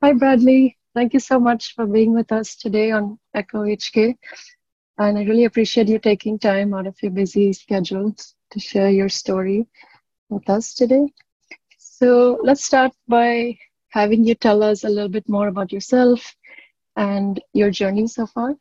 Hi, Bradley. Thank you so much for being with us today on Echo HK. And I really appreciate you taking time out of your busy schedules to share your story with us today. So let's start by having you tell us a little bit more about yourself and your journey so far.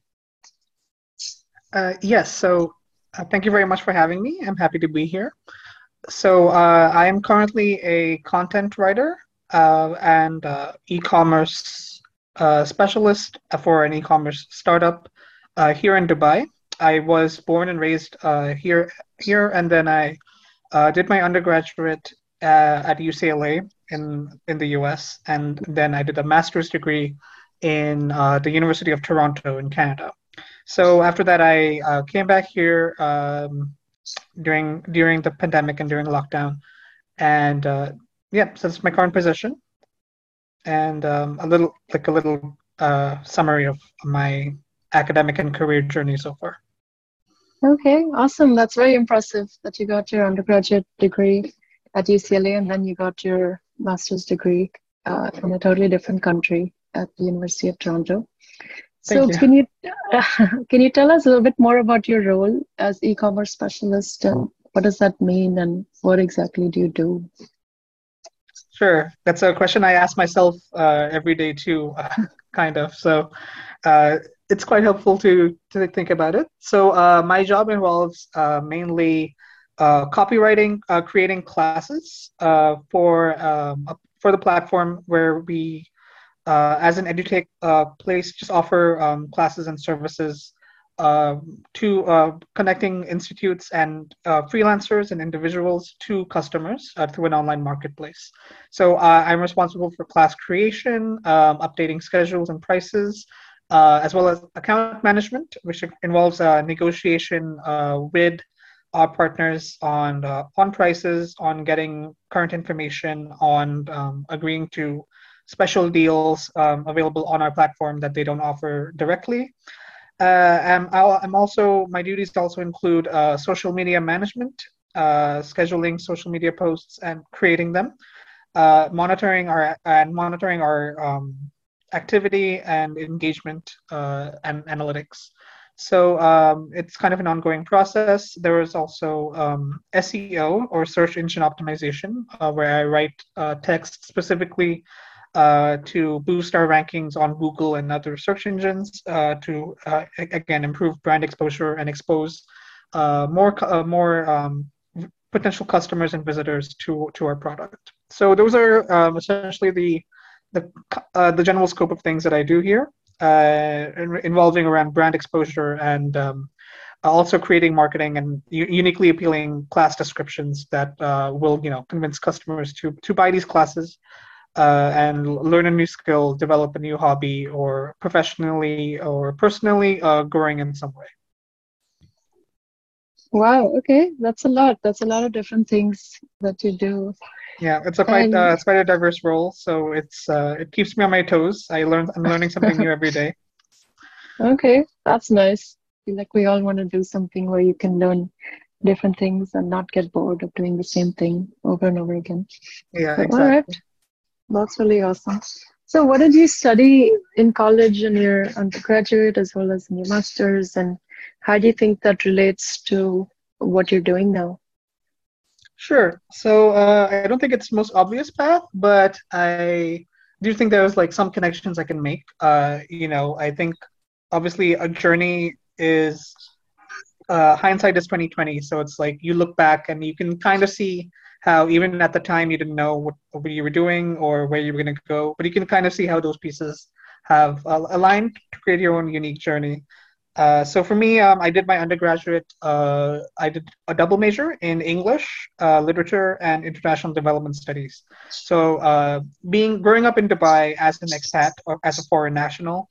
Yes, so thank you very much for having me. I'm happy to be here. So I am currently a content writer and e-commerce specialist for an e-commerce startup here in Dubai. I was born and raised here, and then I did my undergraduate at UCLA in the US, and then I did a master's degree in the University of Toronto in Canada. So after that, I came back here during the pandemic and during lockdown, and yeah, so that's my current position, and a little summary of my academic and career journey so far. Okay, awesome. That's very impressive that you got your undergraduate degree at UCLA and then you got your master's degree in a totally different country at the University of Toronto. Thank So you. can you tell us a little bit more about your role as e-commerce specialist and what does that mean and what exactly do you do? Sure, that's a question I ask myself every day too, kind of. So uh, it's quite helpful to think about it. So my job involves mainly copywriting, creating classes for the platform where we, as an edutech place, just offer classes and services to connecting institutes and freelancers and individuals to customers through an online marketplace. So I'm responsible for class creation, updating schedules and prices, as well as account management, which involves negotiation with our partners on prices, on getting current information, on agreeing to special deals available on our platform that they don't offer directly. I'm also my duties also include social media management, scheduling social media posts and creating them, monitoring our activity and engagement and analytics. So it's kind of an ongoing process. There is also SEO or search engine optimization, where I write text specifically to boost our rankings on Google and other search engines to again improve brand exposure and expose more potential customers and visitors to our product. So those are essentially the the general scope of things that I do here, involving around brand exposure and also creating marketing and uniquely appealing class descriptions that will convince customers to buy these classes and learn a new skill, develop a new hobby, or professionally or personally growing in some way. Wow, okay, that's a lot. That's a lot of different things that you do. Yeah, And it's quite a diverse role, so it keeps me on my toes. I'm learning something new every day. okay, that's nice. Feel like we all want to do something where you can learn different things and not get bored of doing the same thing over and over again. Yeah, So, all right, exactly. that's really awesome. So, what did you study in college in your undergraduate as well as in your master's, and how do you think that relates to what you're doing now? Sure. So I don't think it's the most obvious path, but I do think there's like some connections I can make. I think obviously a journey is hindsight is 2020. So it's like you look back and you can kind of see how even at the time you didn't know what you were doing or where you were going to go, but you can kind of see how those pieces have aligned to create your own unique journey. So for me, I did my undergraduate. I did a double major in English, literature, and international development studies. So, being growing up in Dubai as an expat or as a foreign national,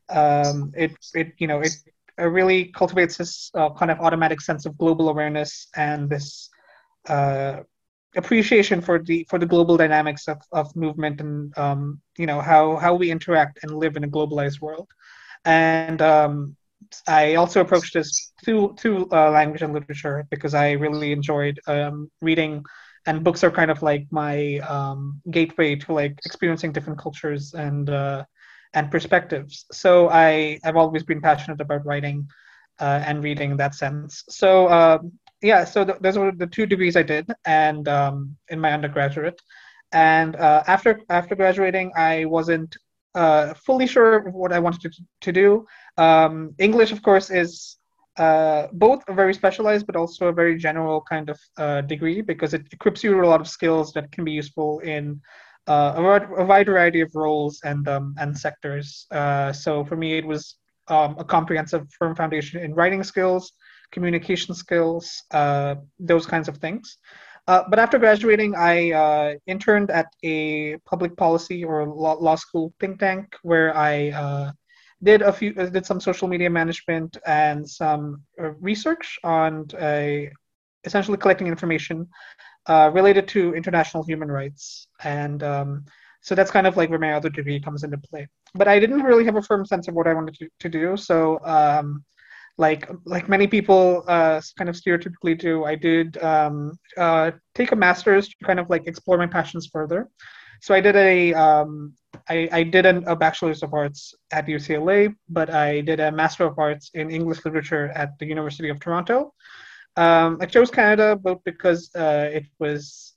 it really cultivates this kind of automatic sense of global awareness and this uh, appreciation for the global dynamics of movement and how we interact and live in a globalized world. And I also approached this through language and literature because I really enjoyed reading and books are kind of like my gateway to like experiencing different cultures and perspectives. So I've always been passionate about writing and reading in that sense. So yeah, so those were the two degrees I did, and in my undergraduate. And after graduating, I wasn't fully sure of what I wanted to do. English, of course, is both a very specialized but also a very general kind of degree, because it equips you with a lot of skills that can be useful in a wide variety of roles and sectors. So for me, it was a comprehensive firm foundation in writing skills, communication skills, those kinds of things. But after graduating, I interned at a public policy or law school think tank where I did some social media management and some research on essentially collecting information related to international human rights. And so that's kind of like where my other degree comes into play. But I didn't really have a firm sense of what I wanted to do. So like many people kind of stereotypically do, I did take a master's to kind of like explore my passions further. So I did I did a bachelor's of arts at UCLA, but I did a master of arts in English literature at the University of Toronto. I chose Canada both because it was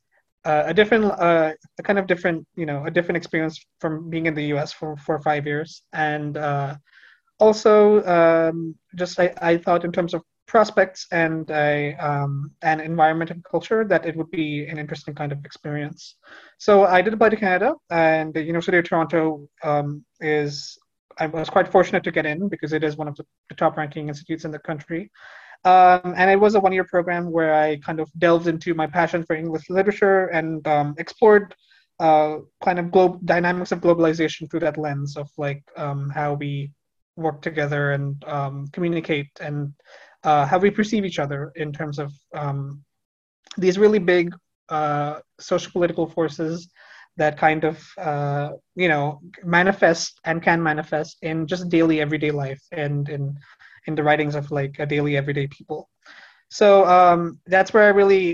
a kind of different, a different experience from being in the US for 5 years, and also just I thought in terms of prospects and environment and culture that it would be an interesting kind of experience. So I did apply to Canada, and the University of Toronto I was quite fortunate to get in because it is one of the top ranking institutes in the country. And it was a 1 year program where I kind of delved into my passion for English literature and explored kind of dynamics of globalization through that lens of like how we work together and communicate and how we perceive each other in terms of these really big social political forces that kind of manifest and can manifest in just daily everyday life and in the writings of like a daily everyday people. So that's where I really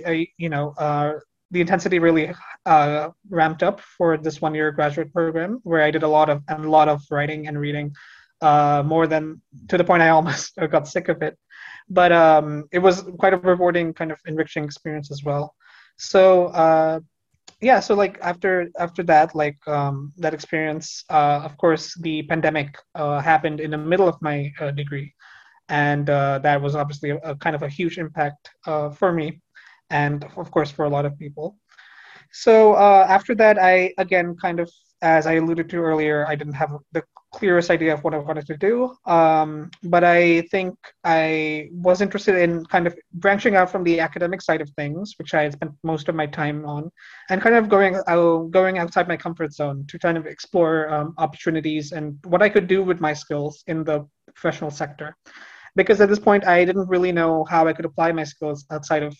the intensity really ramped up for this 1 year graduate program, where I did a lot of writing and reading, more than to the point I almost got sick of it. But it was quite a rewarding, kind of enriching experience as well. So yeah, so like after that, like that experience, of course, the pandemic happened in the middle of my degree, and that was obviously a kind of a huge impact for me, and of course for a lot of people. So after that, I again kind of, as I alluded to earlier, I didn't have the clearest idea of what I wanted to do. But I think I was interested in kind of branching out from the academic side of things, which I had spent most of my time on, and kind of going outside my comfort zone to kind of explore opportunities and what I could do with my skills in the professional sector. Because at this point, I didn't really know how I could apply my skills outside of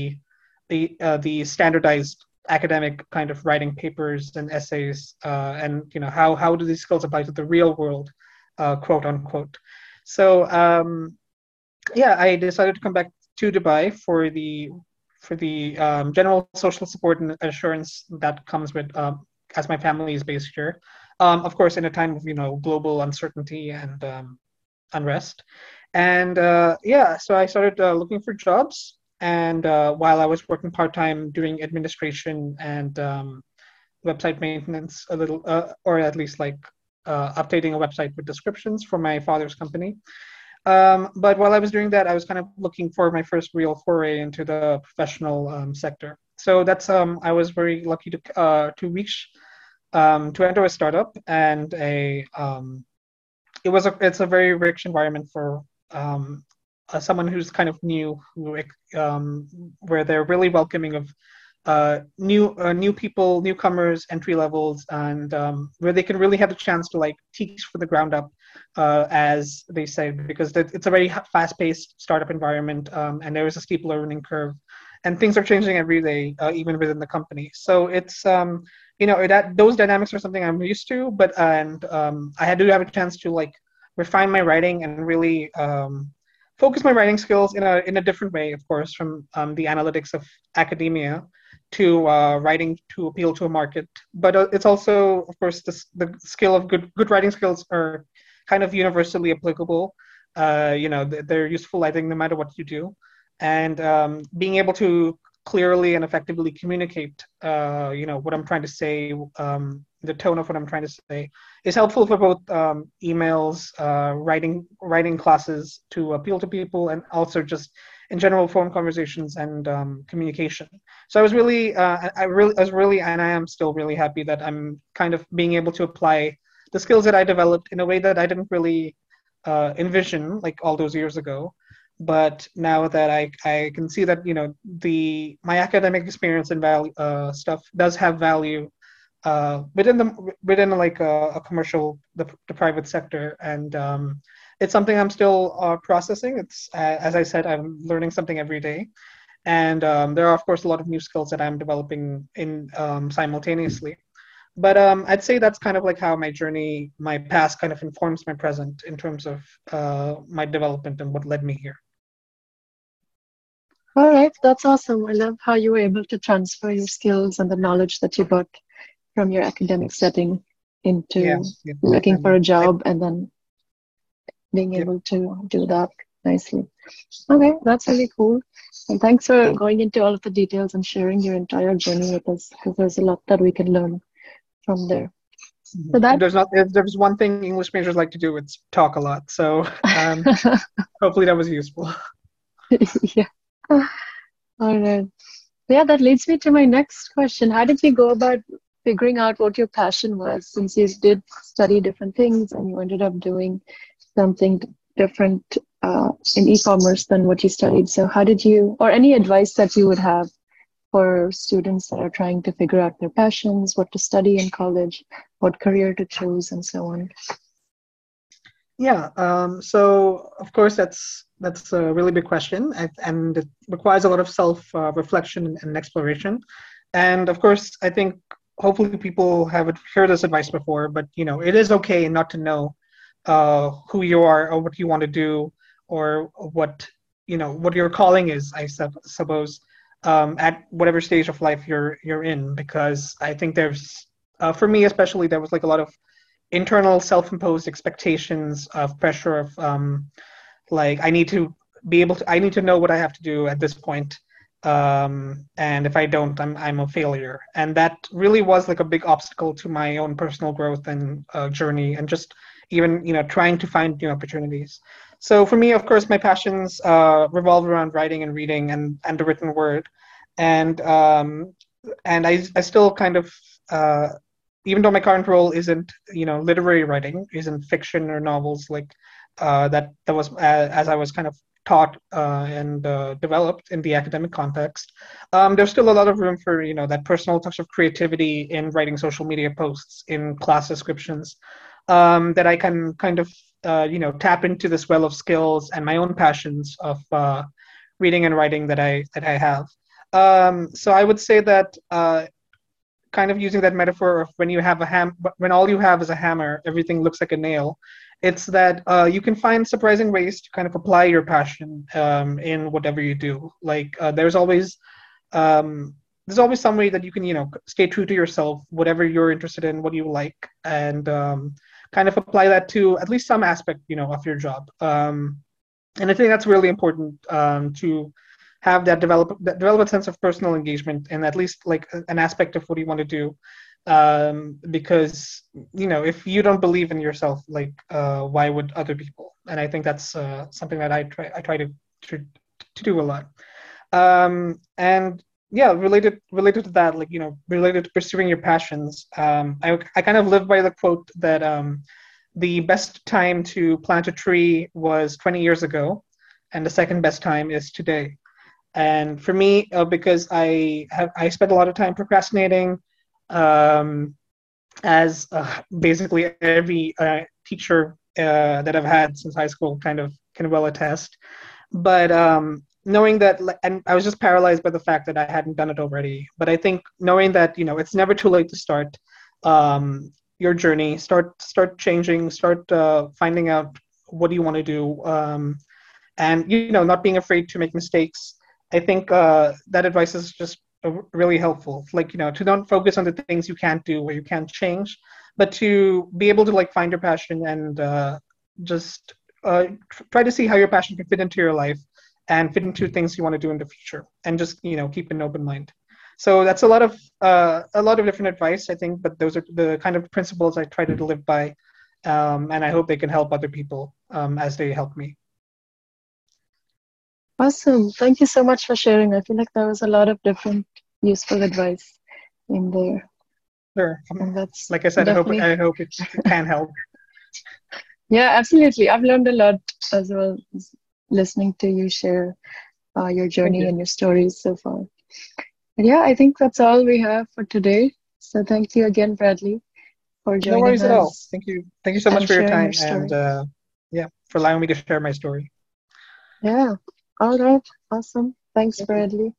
the standardized academic kind of writing papers and essays, and how do these skills apply to the real world, quote unquote. So yeah, I decided to come back to Dubai for the general social support and assurance that comes with, as my family is based here, of course in a time of global uncertainty and unrest. And yeah, so I started looking for jobs. And while I was working part time doing administration and website maintenance, a little, or at least like updating a website with descriptions for my father's company. But while I was doing that, I was kind of looking for my first real foray into the professional sector. So that's I was very lucky to enter a startup, and it's a very rich environment for someone who's kind of new, where they're really welcoming of new people, newcomers, entry levels, and where they can really have the chance to like teach from the ground up, as they say, because it's a very fast-paced startup environment, and there is a steep learning curve, and things are changing every day, even within the company. So it's that those dynamics are something I'm used to, but I had to have a chance to like refine my writing and really focus my writing skills in a different way, of course, from the analytics of academia, to writing to appeal to a market. But it's also, of course, the skill of good writing skills are kind of universally applicable. They're useful, I think, no matter what you do. And being able to clearly and effectively communicate, what I'm trying to say, the tone of what I'm trying to say, is helpful for both emails, writing classes to appeal to people, and also just in general phone conversations and communication. So I was really, and I am still really happy that I'm kind of being able to apply the skills that I developed in a way that I didn't really envision like all those years ago. But now that I can see that my academic experience and value stuff does have value within like a commercial the private sector, and it's something I'm still processing. It's as I said, I'm learning something every day, and there are of course a lot of new skills that I'm developing in simultaneously. But I'd say that's kind of like how my past kind of informs my present in terms of my development and what led me here. All right, that's awesome. I love how you were able to transfer your skills and the knowledge that you got from your academic setting into looking for a job and then being able to do that nicely. Okay, that's really cool. And thanks for going into all of the details and sharing your entire journey with us, because there's a lot that we can learn from there. So there's one thing English majors like to do, it's talk a lot. So hopefully that was useful. Yeah. All right. Yeah, that leads me to my next question. How did you go about figuring out what your passion was, since you did study different things and you ended up doing something different in e-commerce than what you studied? So how did you, or any advice that you would have for students that are trying to figure out their passions, what to study in college, what career to choose, and so on? Yeah, so of course that's a really big question, and it requires a lot of self reflection and exploration. And of course, I think hopefully people have heard this advice before, but it is okay not to know who you are or what you want to do, or what your calling is, I suppose, at whatever stage of life you're in, because I think there's for me especially, there was like a lot of internal self-imposed expectations of pressure of like I need to I need to know what I have to do at this point, and if I don't, I'm a failure. And that really was like a big obstacle to my own personal growth and journey, and just even trying to find new opportunities. So for me, of course, my passions revolve around writing and reading and the written word, and I still kind of even though my current role isn't literary writing, isn't fiction or novels like that was as I was kind of taught and developed in the academic context. There's still a lot of room for that personal touch of creativity in writing social media posts, in class descriptions, that I can kind of tap into this well of skills and my own passions of reading and writing that I have. So I would say that kind of using that metaphor of when all you have is a hammer, everything looks like a nail. It's that you can find surprising ways to kind of apply your passion in whatever you do. Like there's always some way that you can stay true to yourself, whatever you're interested in, what you like, and kind of apply that to at least some aspect of your job. And I think that's really important to have that develop a sense of personal engagement and at least like an aspect of what you want to do, because if you don't believe in yourself, like why would other people? And I think that's something that I try to do a lot. And yeah, related to that, like related to pursuing your passions, I kind of live by the quote that the best time to plant a tree was 20 years ago, and the second best time is today. And for me, because I spent a lot of time procrastinating, as basically every teacher that I've had since high school kind of can well attest. But knowing that, and I was just paralyzed by the fact that I hadn't done it already. But I think knowing that it's never too late to start your journey, start changing, start finding out what you want to do, and not being afraid to make mistakes. I think that advice is just really helpful. Like, to not focus on the things you can't do or you can't change, but to be able to like find your passion and just try to see how your passion can fit into your life and fit into things you want to do in the future, and just keep an open mind. So that's a lot of different advice, I think, but those are the kind of principles I try to live by, and I hope they can help other people as they help me. Awesome. Thank you so much for sharing. I feel like there was a lot of different useful advice in there. Sure. And that's like I said, definitely... I hope it can help. Yeah, absolutely. I've learned a lot as well listening to you share your journey and your stories so far. And yeah, I think that's all we have for today. So thank you again, Bradley, for No joining worries at all. us Thank you. Thank you so much and for your sharing your time, and story. yeah, for allowing me to share my story. Yeah. All right. Awesome. Thanks, Bradley.